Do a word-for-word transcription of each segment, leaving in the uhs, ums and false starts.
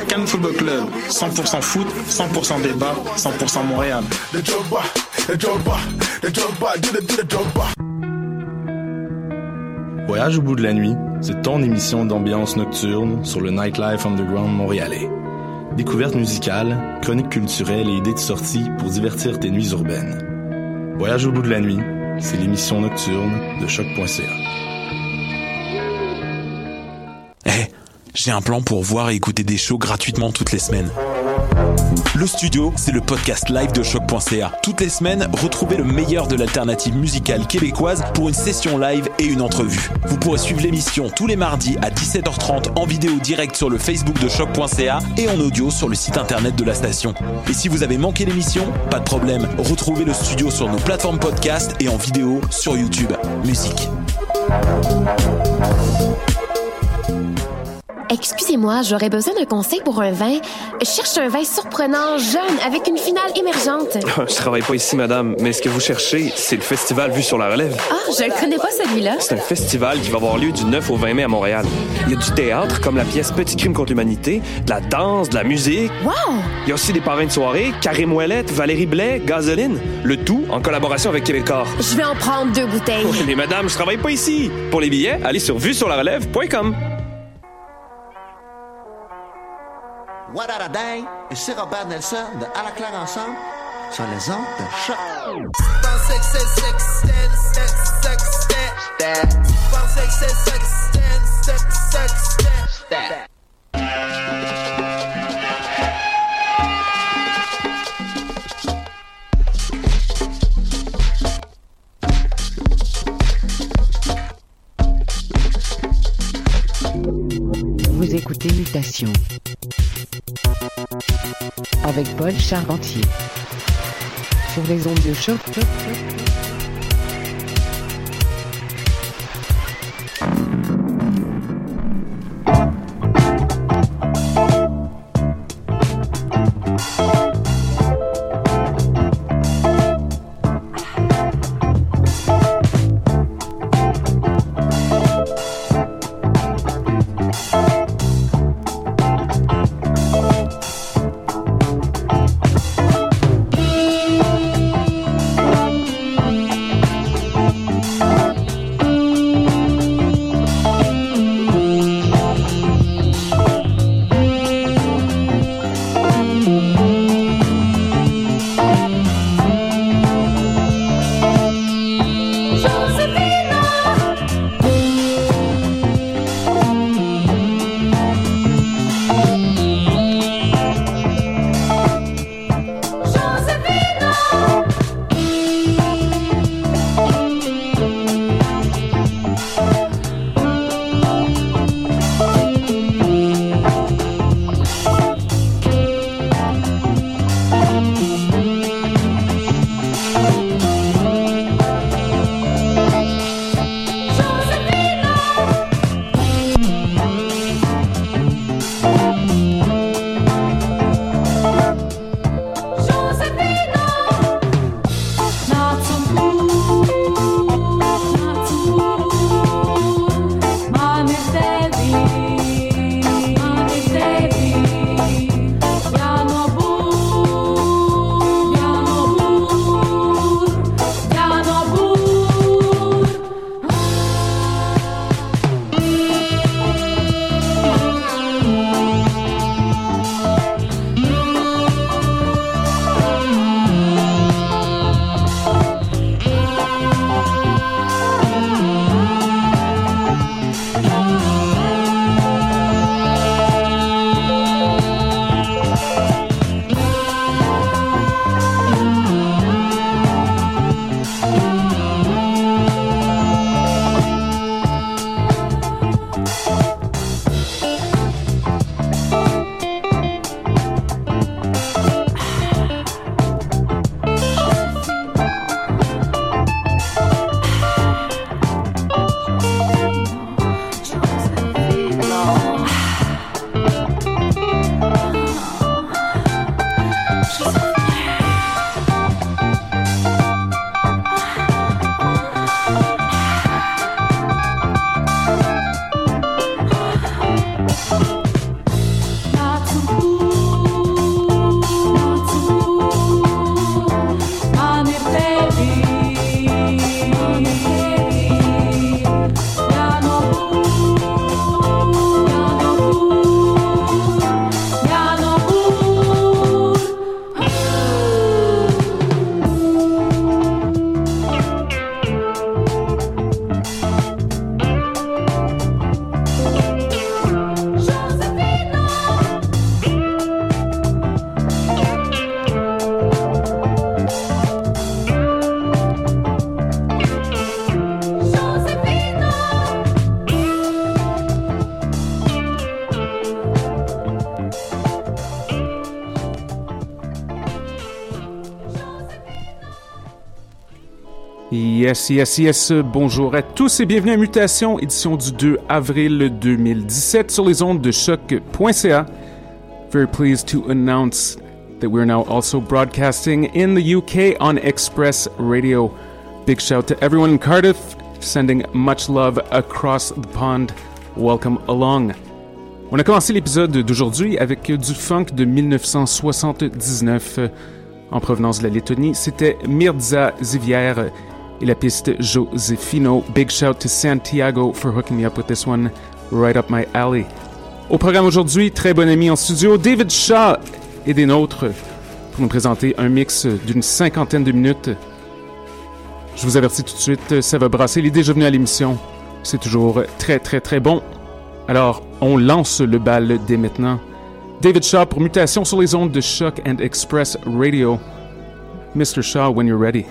Cannes Football Club, cent pour cent foot, cent pour cent débat, cent pour cent Montréal. Voyage au bout de la nuit, c'est ton émission d'ambiance nocturne sur le Nightlife Underground montréalais. Découvertes musicales, chroniques culturelles et idées de sortie pour divertir tes nuits urbaines. Voyage au bout de la nuit, c'est l'émission nocturne de choc point c a. Eh, hey, j'ai un plan pour voir et écouter des shows gratuitement toutes les semaines. Le Studio, c'est le podcast live de choc point c a. Toutes les semaines, retrouvez le meilleur de l'alternative musicale québécoise pour une session live et une entrevue. Vous pourrez suivre l'émission tous les mardis à dix-sept heures trente en vidéo direct sur le Facebook de choc point c a et en audio sur le site internet de la station. Et si vous avez manqué l'émission, pas de problème, retrouvez le Studio sur nos plateformes podcast et en vidéo sur YouTube. Musique. Excusez-moi, j'aurais besoin d'un conseil pour un vin. Je cherche un vin surprenant, jeune, avec une finale émergente. Je travaille pas ici, madame, mais ce que vous cherchez, c'est le festival Vue sur la Relève. Ah, je le connais pas, celui-là. C'est un festival qui va avoir lieu du neuf au vingt mai à Montréal. Il y a du théâtre, comme la pièce Petit crime contre l'humanité, de la danse, de la musique. Wow! Il y a aussi des parrains de soirée, Karim Ouellette, Valérie Blais, Gasoline. Le tout en collaboration avec Québécois. Je vais en prendre deux bouteilles. Oui, mais madame, je travaille pas ici. Pour les billets, allez sur vue sur la relève point com. What a dang, et c'est Robert Nelson de À la claire ensemble sur les ondes de choc. Vous écoutez Mutation avec Paul Charpentier sur les ondes de choc. Yes, yes, yes. Bonjour à tous et bienvenue à Mutation, édition du deux avril deux mille dix-sept sur les ondes de choc point c a. Very pleased to announce that we're now also broadcasting in the U K on Express Radio. Big shout to everyone in Cardiff, sending much love across the pond. Welcome along. On a commencé l'épisode d'aujourd'hui avec du funk de dix-neuf cent soixante-dix-neuf. En provenance de la Lettonie, c'était Mirza Zivier et la piste Josefino. Big shout to Santiago for hooking me up with this one, right up my alley. Au programme aujourd'hui, très bon ami en studio, David Shaw et des nôtres pour nous présenter un mix d'une cinquantaine de minutes. Je vous avertis tout de suite, ça va brasser. Il est déjà venu à l'émission. C'est toujours très très très bon. Alors, on lance le bal dès maintenant. David Shaw pour Mutation sur les ondes de Choc and Express Radio. Mister Shaw, when you're ready.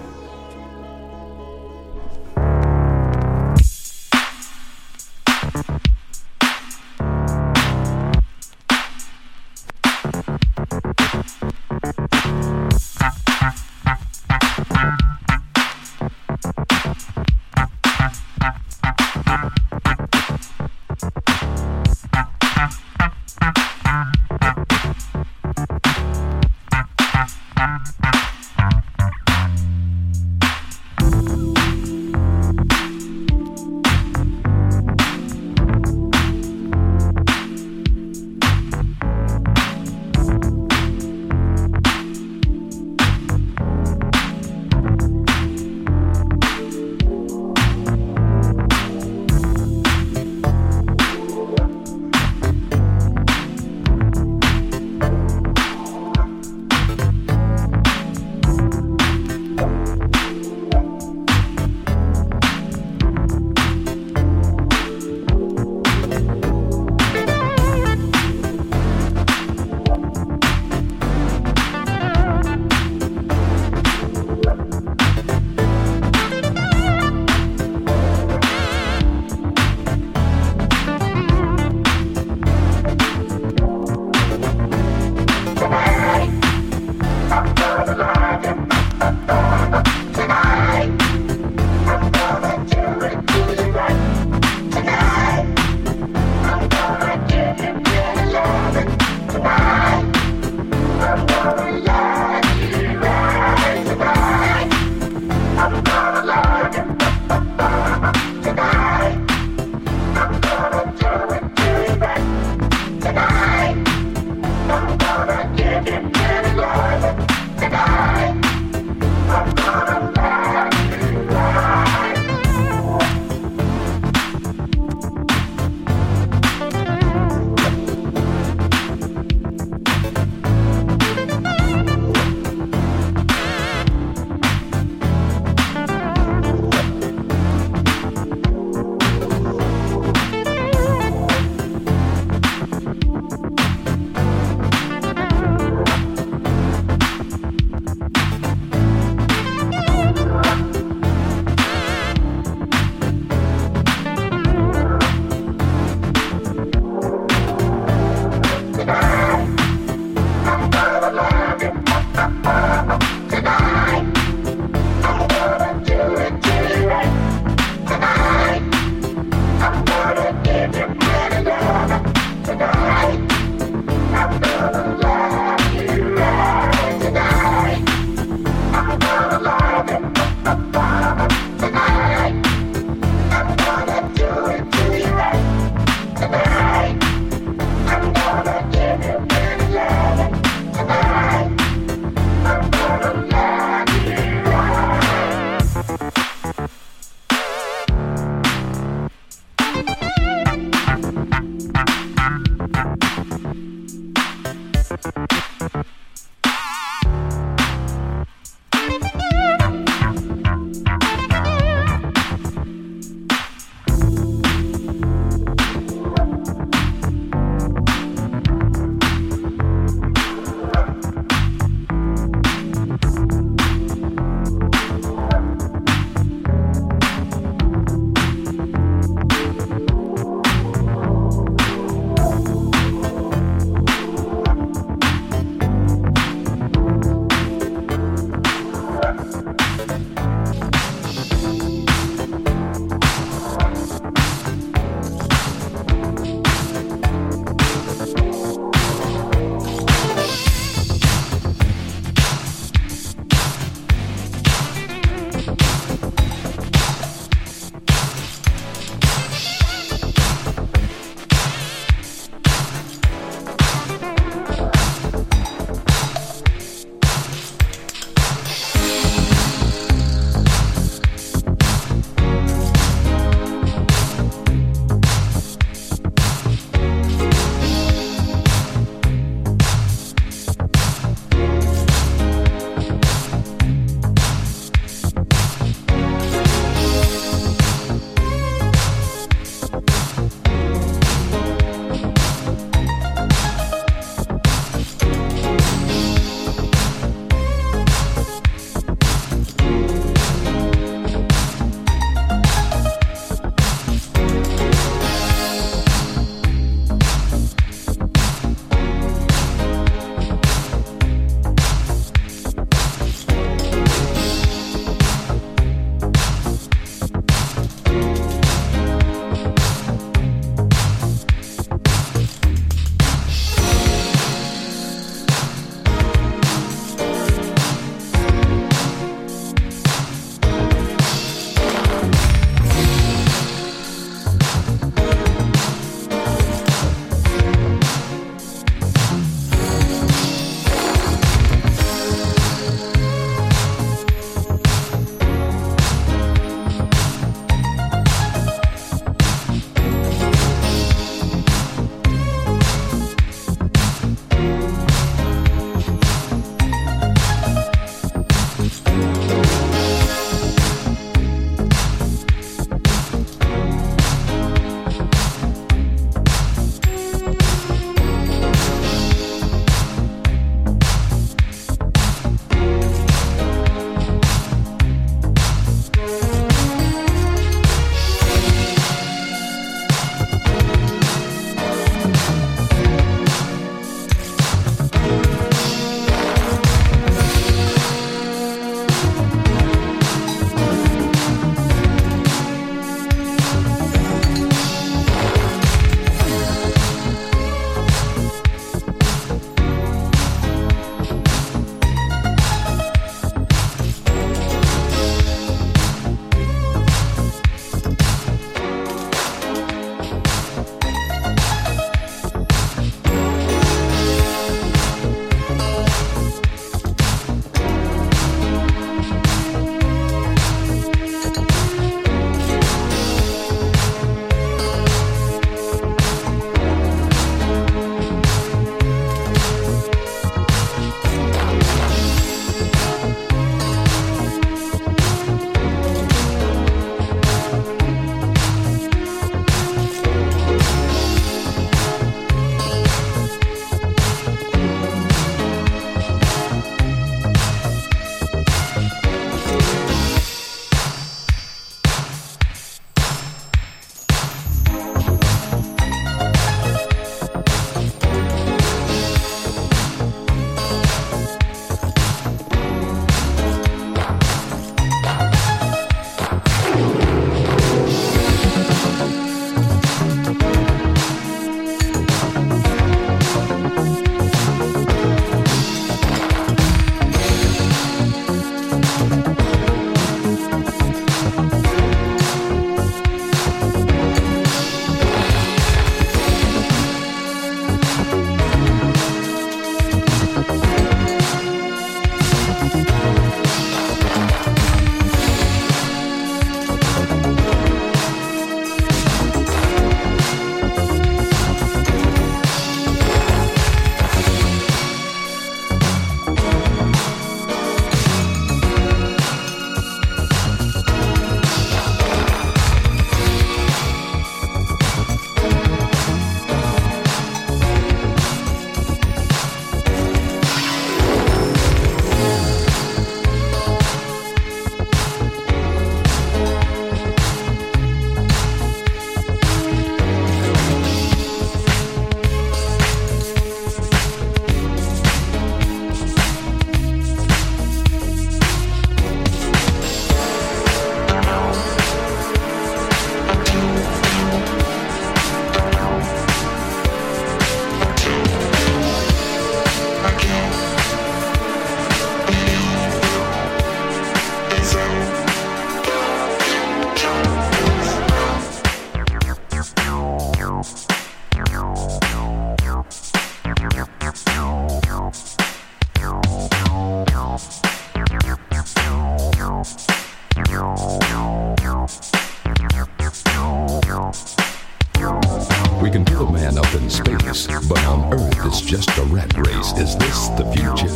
a rat race. Is this the future?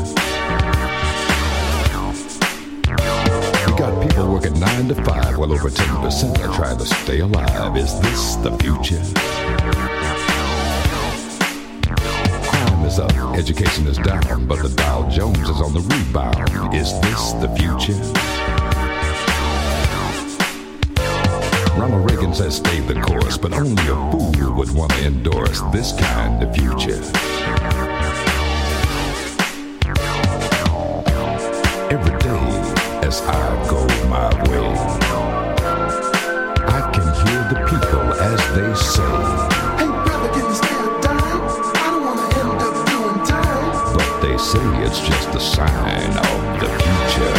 We got people working nine to five, while over ten percent are trying to stay alive. Is this the future? Crime is up, education is down, but the Dow Jones is on the rebound. Is this the future? Ronald Reagan says stay the course, but only a fool would want to endorse this kind of future. Every day as I go my way, I can hear the people as they say, "Hey brother, can you stay a dime? I don't want to end up doing time." But they say it's just a sign of the future.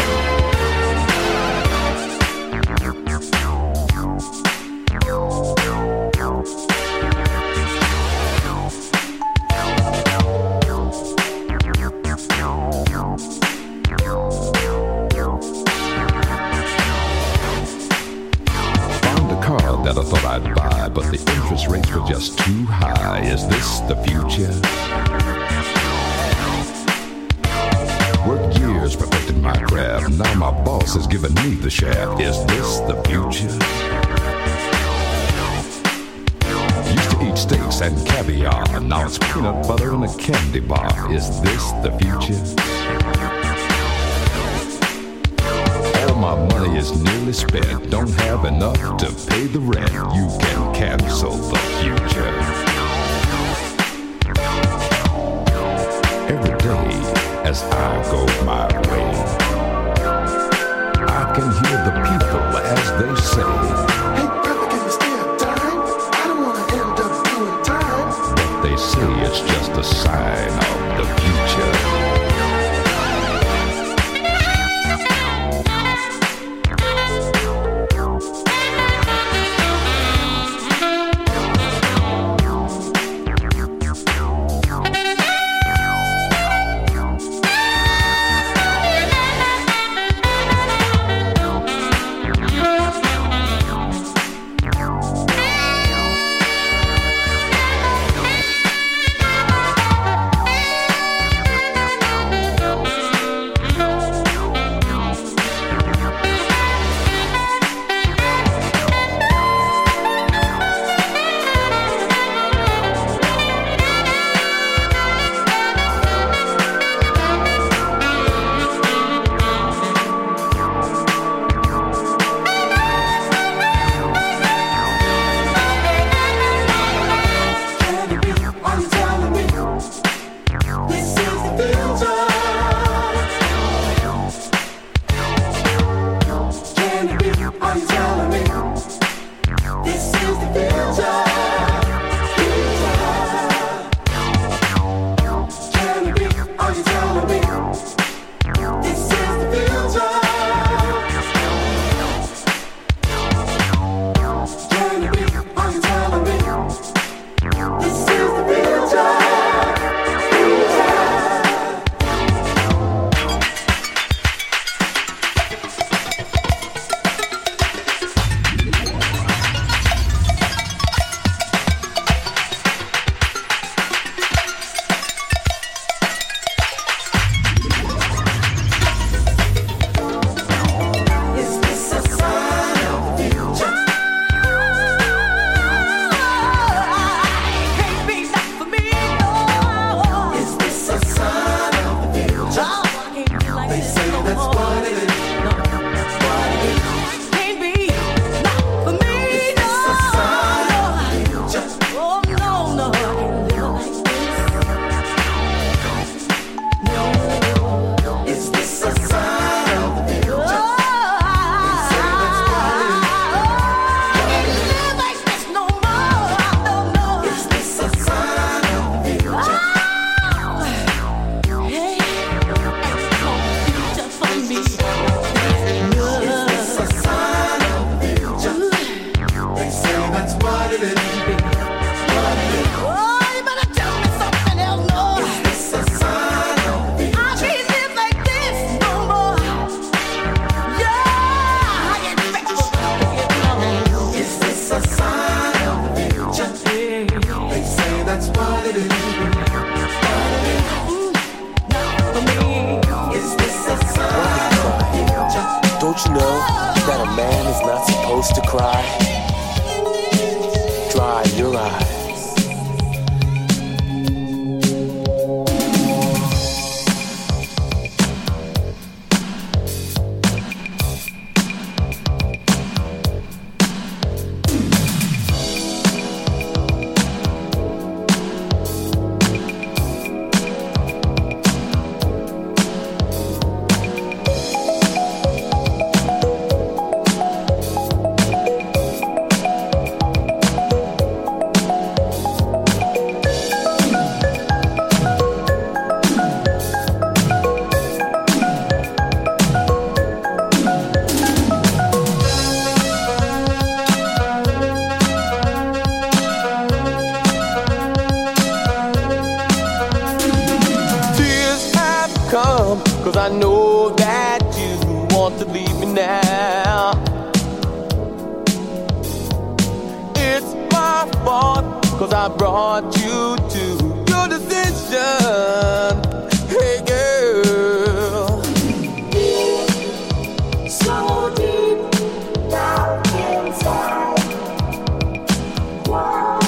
That I thought I'd buy, but the interest rates were just too high. Is this the future? Worked years perfecting my craft. Now my boss has given me the shaft. Is this the future? Used to eat steaks and caviar. Now it's peanut butter and a candy bar. Is this the future? My money is nearly spent. Don't have enough to pay the rent. You can cancel the future. Every day as I go my way, I can hear the people as they say, "Hey brother, can you stay a dime? I don't want to end up doing time." But they say it's just a sign of the future. Don't you know that a man is not supposed to cry? Dry your eyes. Cause I know that you want to leave me now. It's my fault, cause I brought you to your decision. Hey girl, so deep down inside. Wow.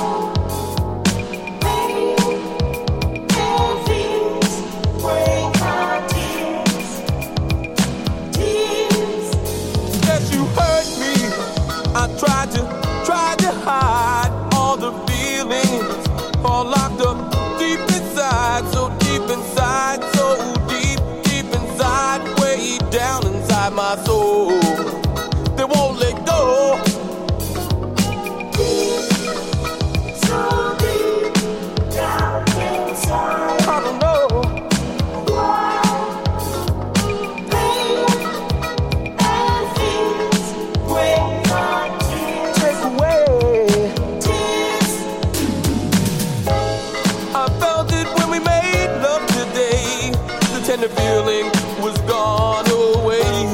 Tried to, tried to hide all the feelings, all locked up deep inside, so deep inside, so deep, deep inside, way down inside my soul. They won't let go. Deep, so deep down inside. I don't know. And the feeling was gone away.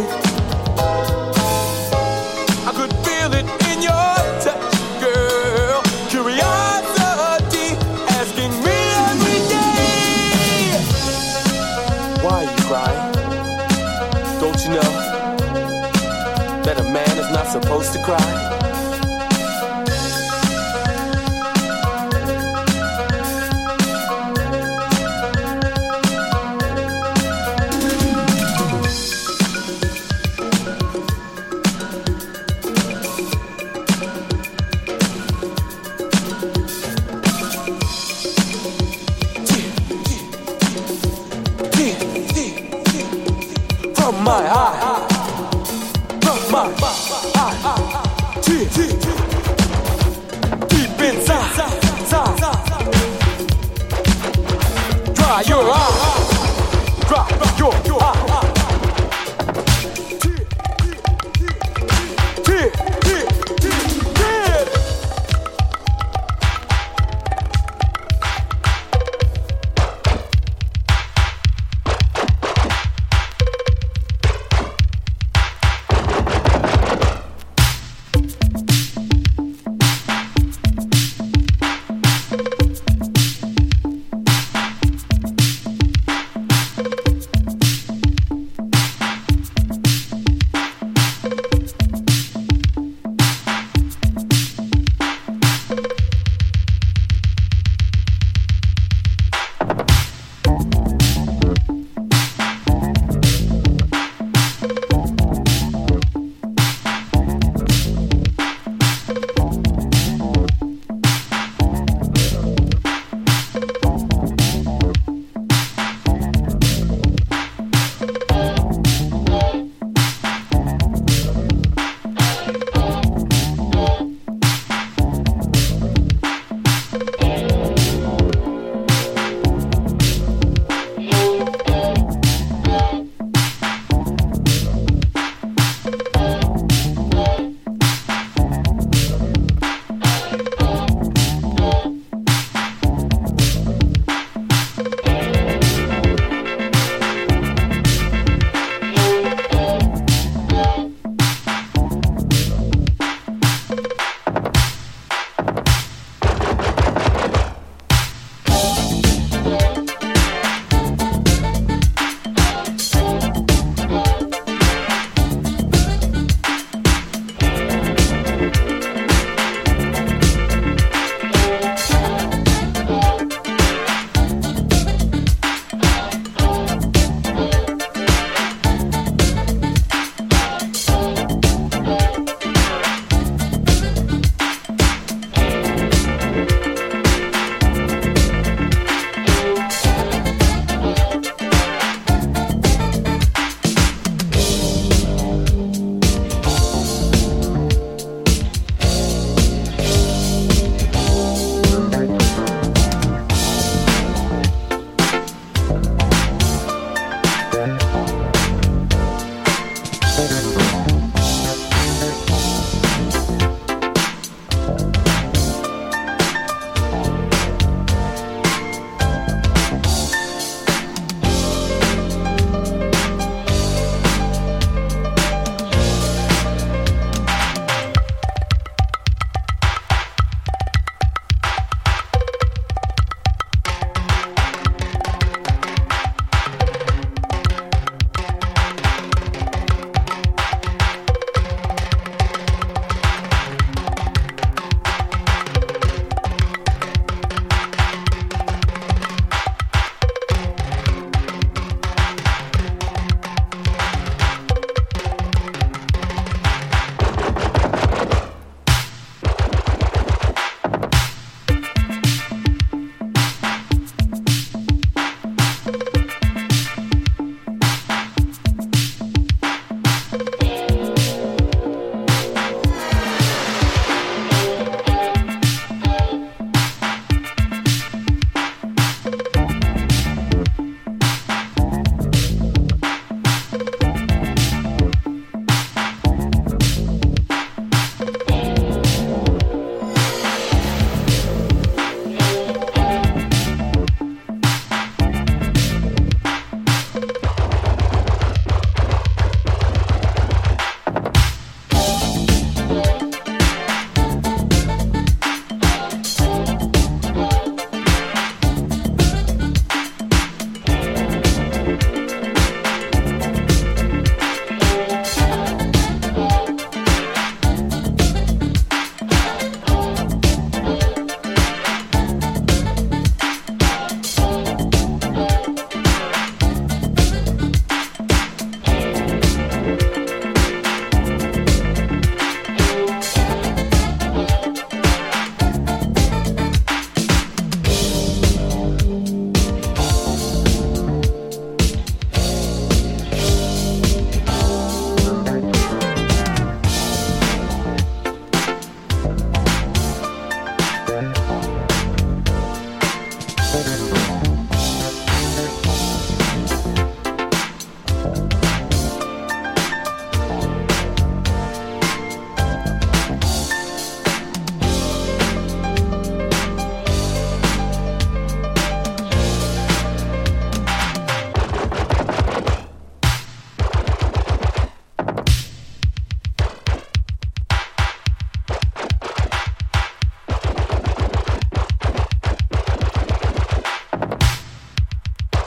I could feel it in your touch, girl. Curiosity asking me every day. Why are you crying? Don't you know that a man is not supposed to cry? From my eye, from my eye, deep, deep inside, dry your eye, dry your eye.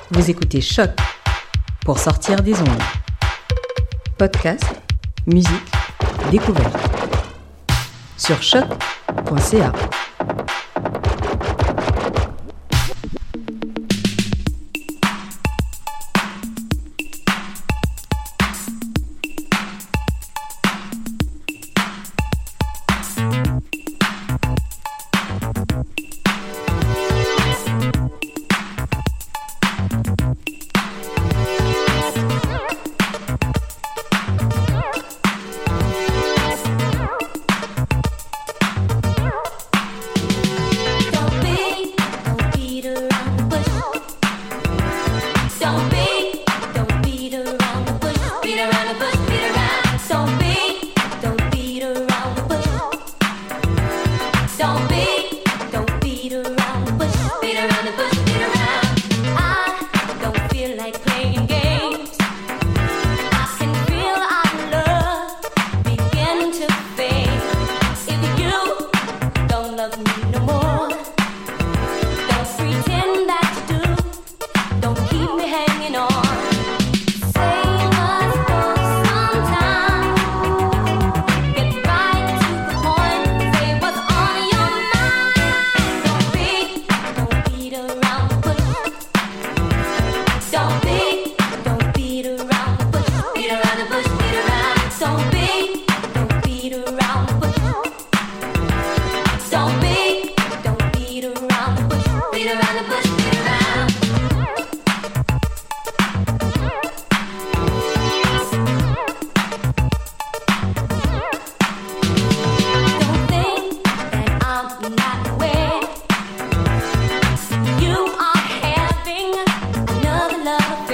Vous écoutez Choc pour sortir des ondes. Podcast, musique, découverte. Sur choc point c a. Love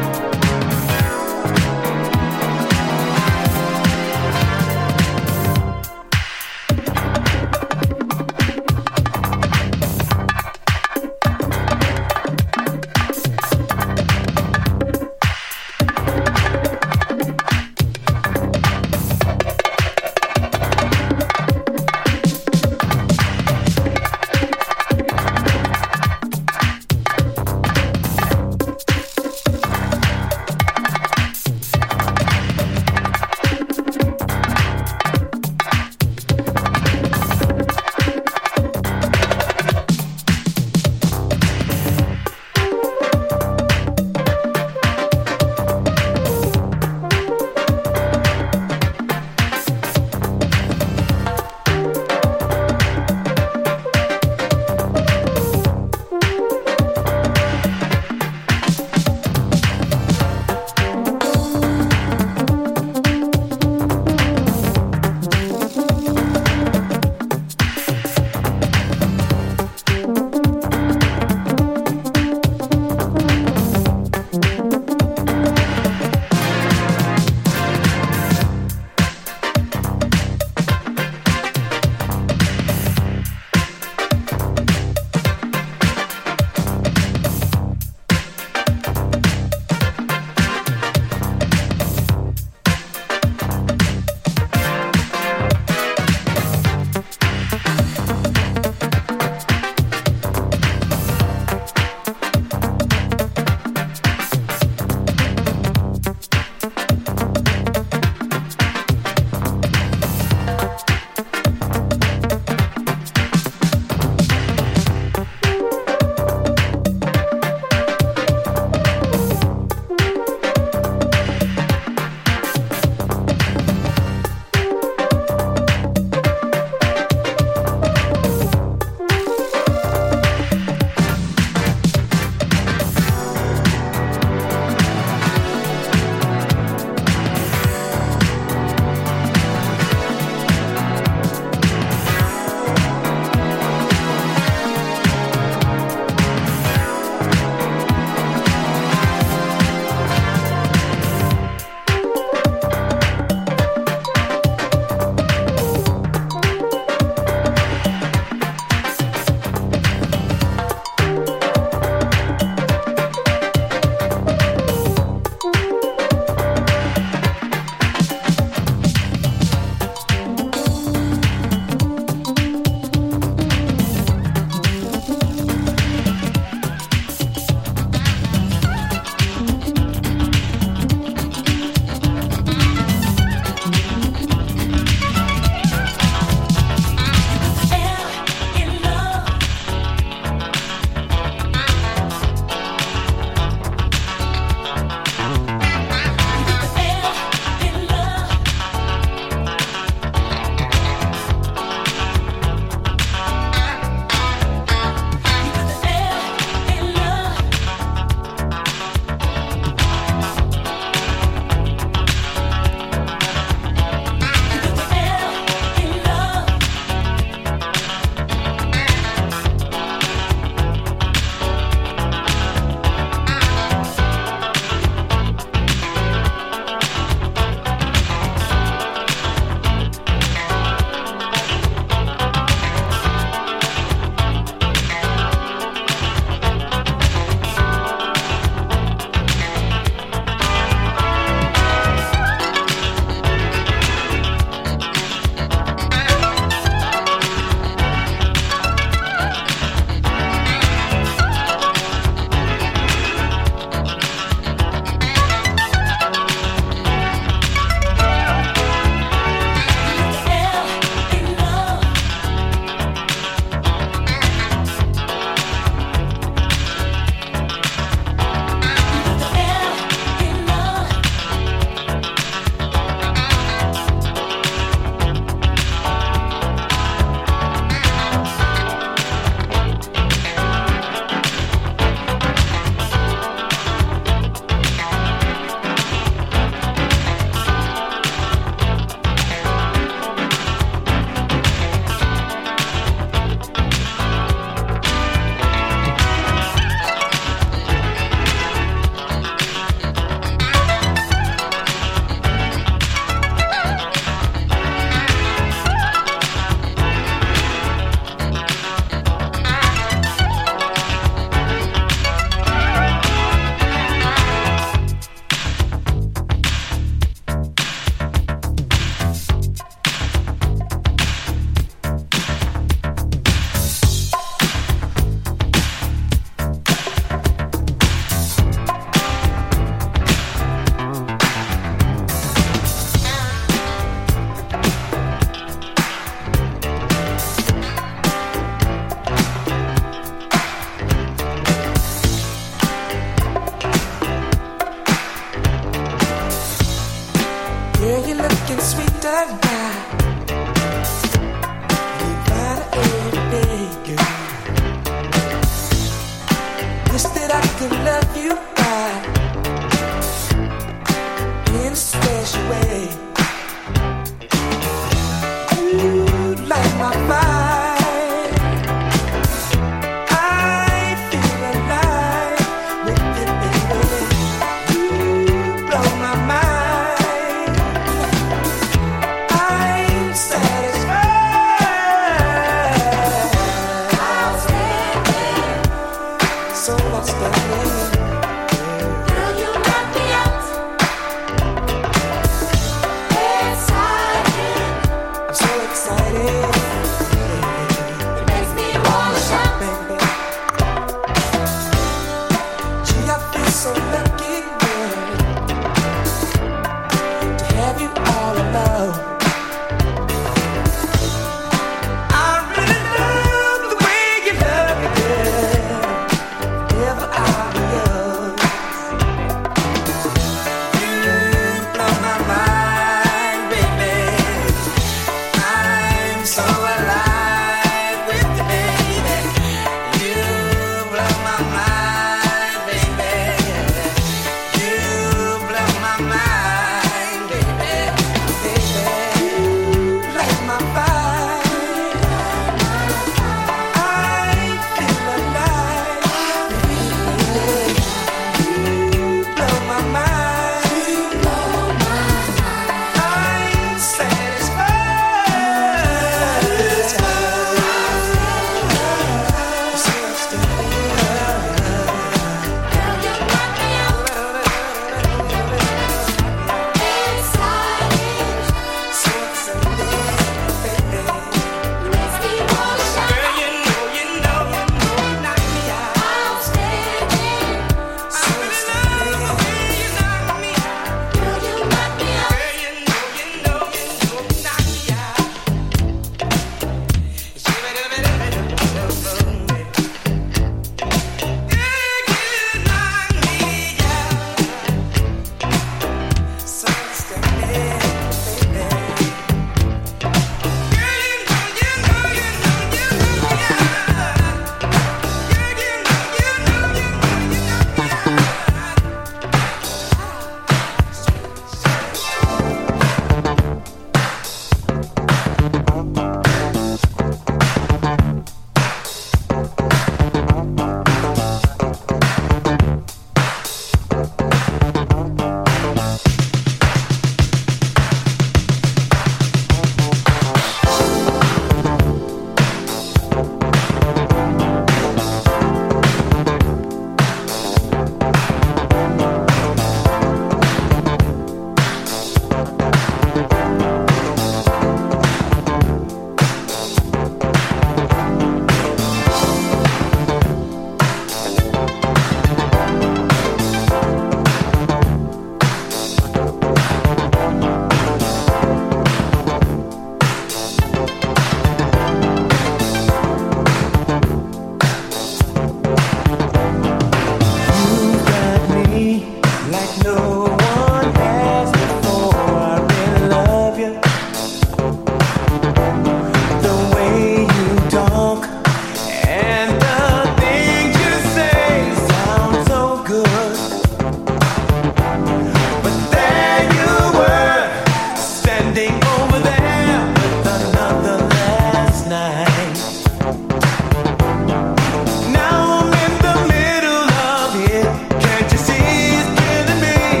Now I'm in the middle of it. Can't you see it's killing me?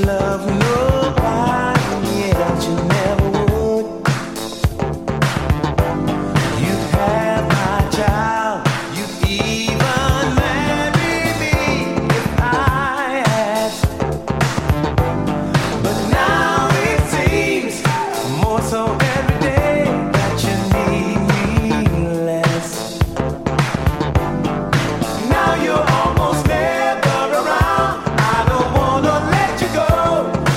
love nobody else, you never would. You have my child, you even marry me if I asked. But now it seems more so every day that you need me less. Now you're almost never around. I don't wanna let you go.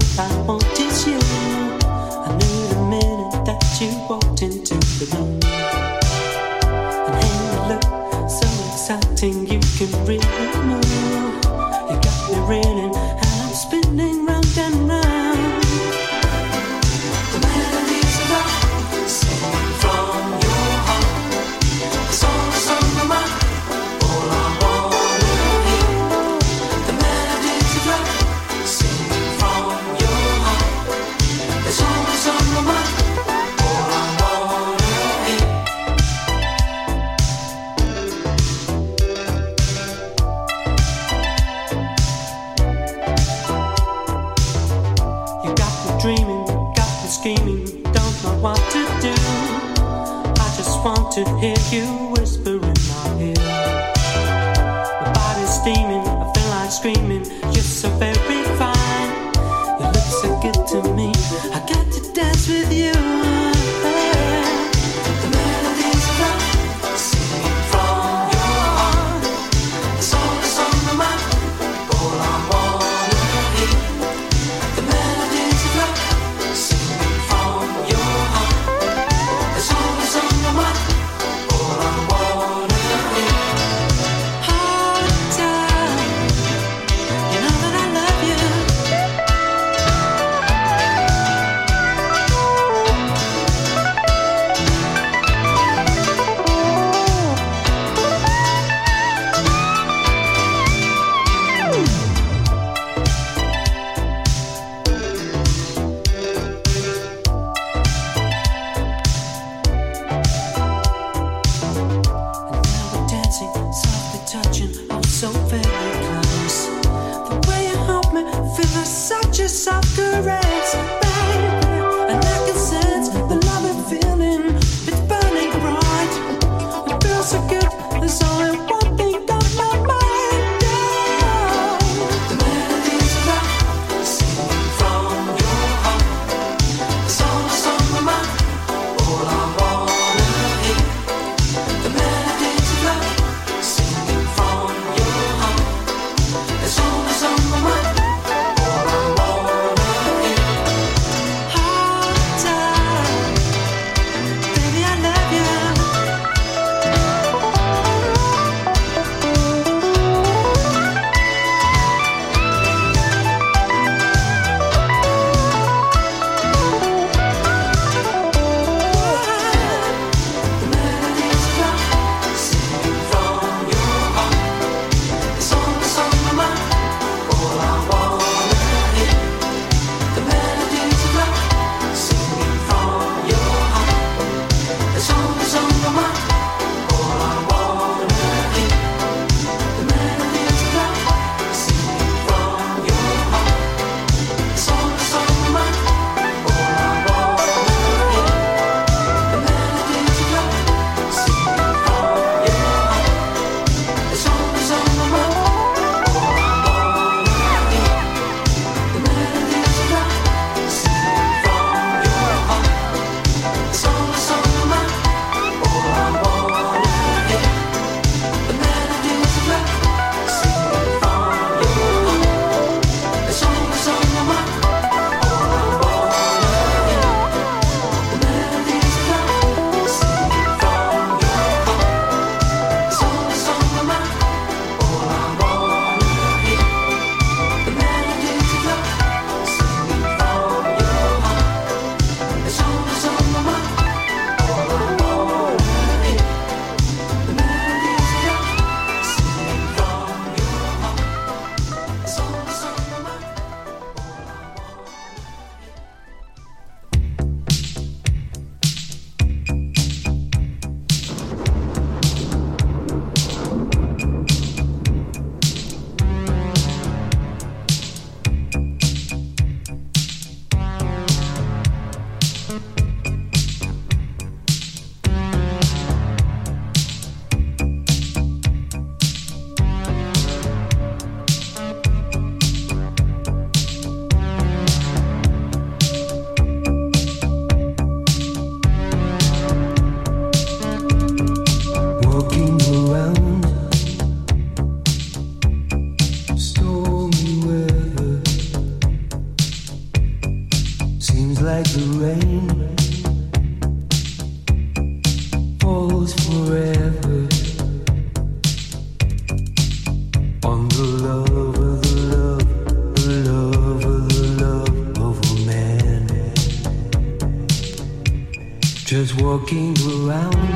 I want is you. I knew the minute that you walked into the room. And hey, you look so exciting, you can really move. You got me reeling, and I'm spinning round and round. The melodies of love sing from your heart. The songs on my mind, all I wanna hear. The melodies of love sing from your heart. The songs on my mind, all I wanna hear. You got me dreaming, got me scheming, don't know what to do. I just want to hear you whisper in my ear. My body's steaming, I feel like screaming. You're so very fine, you look so good to me. I got to dance with you. The melodies of love singing from your heart. The songs on my mind, all I wanna hear. The melodies of love singing from your heart. The songs on my mind, all I on the love of the love, the love of the love of a man. Just walking around,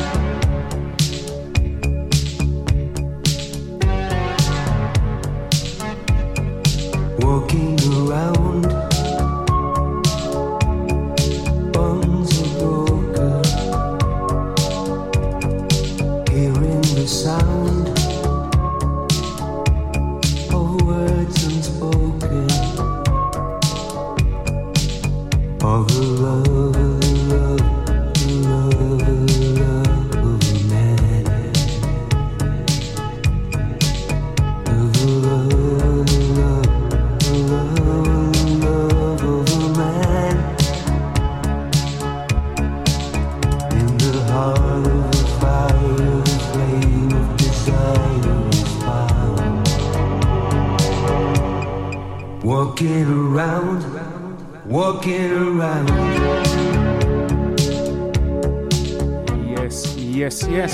walking around. Bones are broken, hearing the sound of words unspoken, of the love, of the love, the love, the love of a man, of the love, the love, the love, the love of a man. In the heart of the fire, the flame of desire is found. Walking around, walking around. Yes, yes, yes.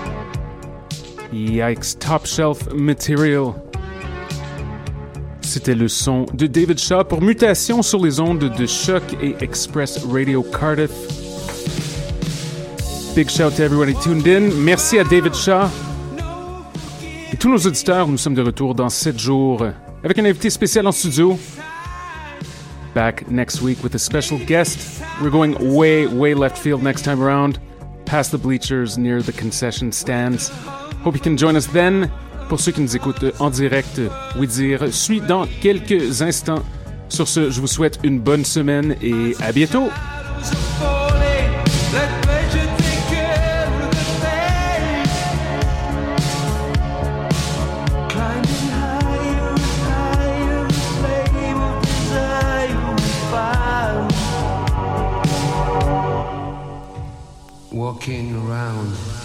Yikes, top shelf material. C'était le son de David Shaw pour Mutation sur les ondes de Choc et Express Radio Cardiff. Big shout to everybody tuned in. Merci à David Shaw. Et tous nos auditeurs, nous sommes de retour dans sept jours avec un invité spécial en studio. Back next week with a special guest. We're going way, way left field next time around, past the bleachers near the concession stands. Hope you can join us then. Pour ceux qui nous écoutent en direct, oui dire, suit dans quelques instants. Sur ce, je vous souhaite une bonne semaine et à bientôt. Walking around.